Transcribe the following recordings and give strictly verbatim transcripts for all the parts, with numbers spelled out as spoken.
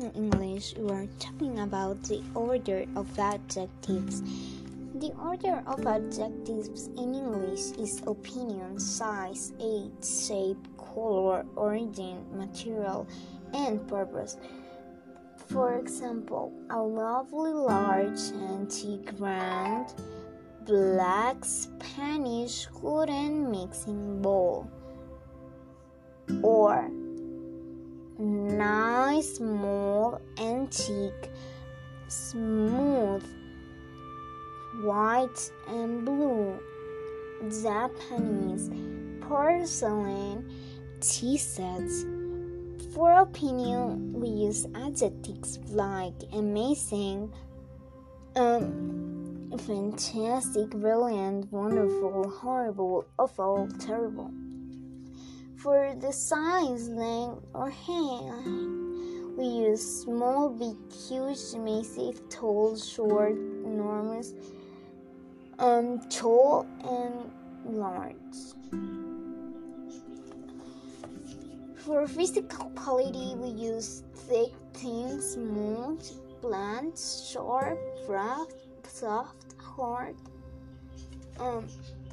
in English, we are talking about the order of adjectives. The order of adjectives in English is opinion, size, age, shape, color, origin, material, and purpose. For example, a lovely large antique round black Spanish wooden mixing bowl, or nice small antique smooth white and blue Japanese porcelain tea sets. For opinion, we use adjectives like amazing, um, fantastic, brilliant, wonderful, horrible, awful, terrible. For the size, length, or height, we use small, big, huge, massive, tall, short, enormous, um, tall, and large. For physical quality, we use thick, thin, smooth, blunt, sharp, rough, soft, hard, um,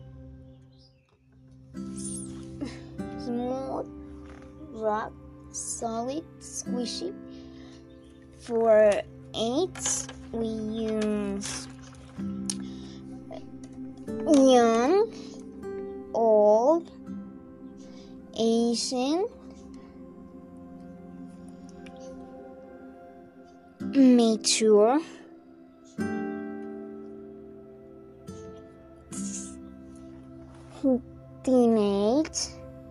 smooth, rough, solid, squishy. For age, we use young, old, Asian, mature, teenage,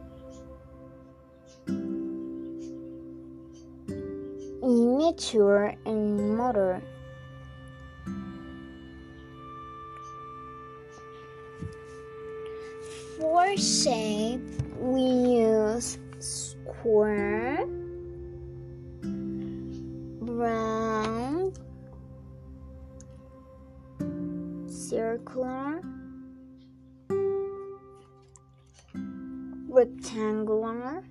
immature, and modern. For shape, we use square, round, circular, rectangular,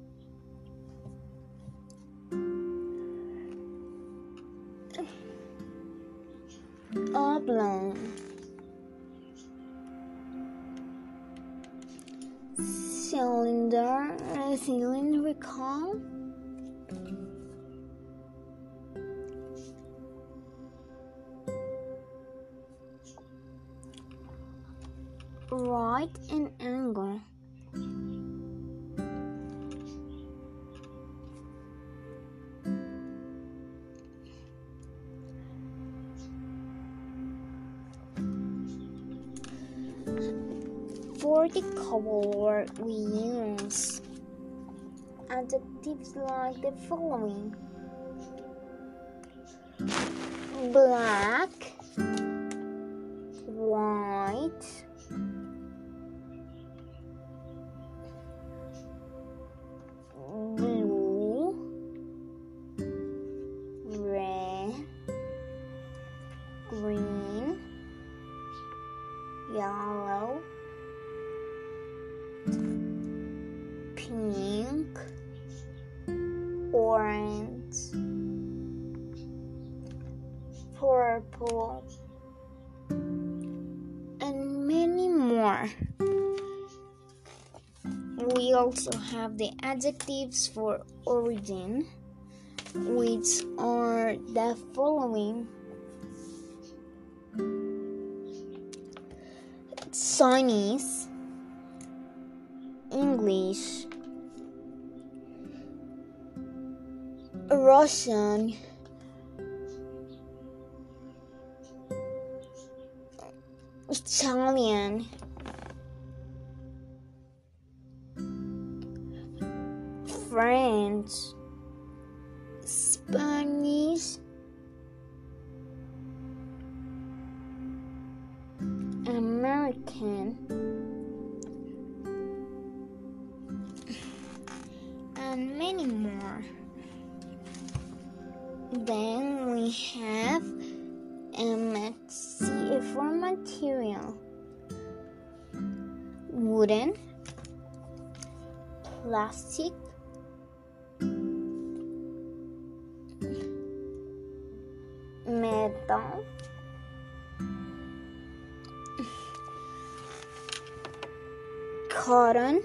oblong, cylinder, cylindrical, right and angle. For the color, we use adjectives like the following: black, white, blue, red, green, yellow, pink, orange, purple, and many more. We also have the adjectives for origin, which are the following: Chinese, English, Russian, Italian, French, Spanish, American, and many more. Then we have M H C for material: wooden, plastic, cotton,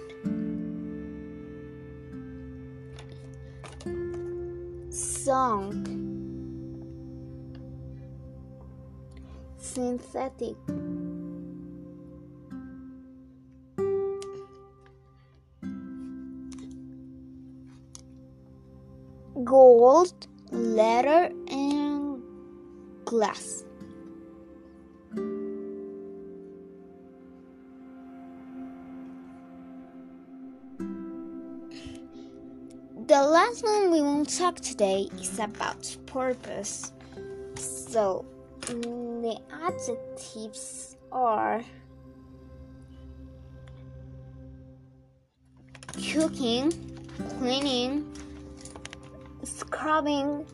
sunk, synthetic, gold, leather, and glass. The last one we will talk today is about purpose. So, the adjectives are cooking, cleaning, scrubbing,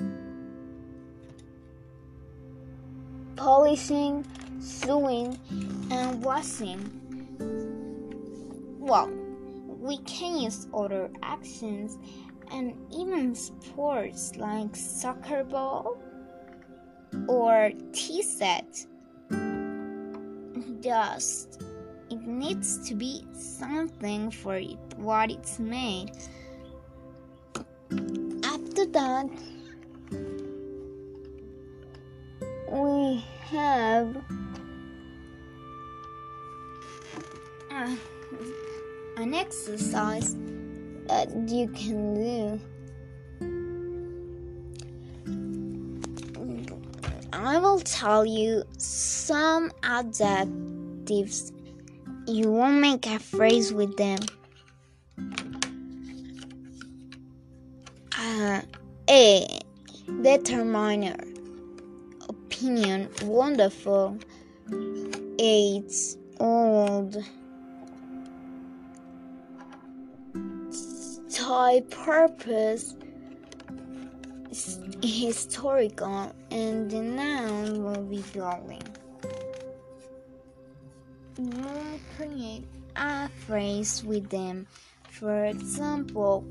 polishing, sewing, and washing. Well, we can use other actions and even sports like soccer ball or tea set. Just it needs to be something for it, what it's made. After that, we have uh, an exercise that you can do. I will tell you some adjectives. You will make a phrase with them. Uh, A. Determiner. Opinion. Wonderful. Age. Old. Type. Purpose. Historical. And the noun will be glowing. You will create a phrase with them. For example,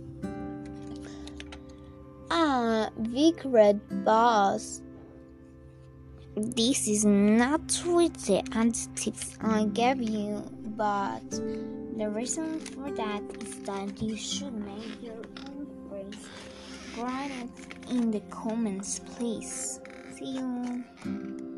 a big red bus. This is not with the adjectives I gave you, but the reason for that is that you should make your own phrase. Write it in the comments, please. See you.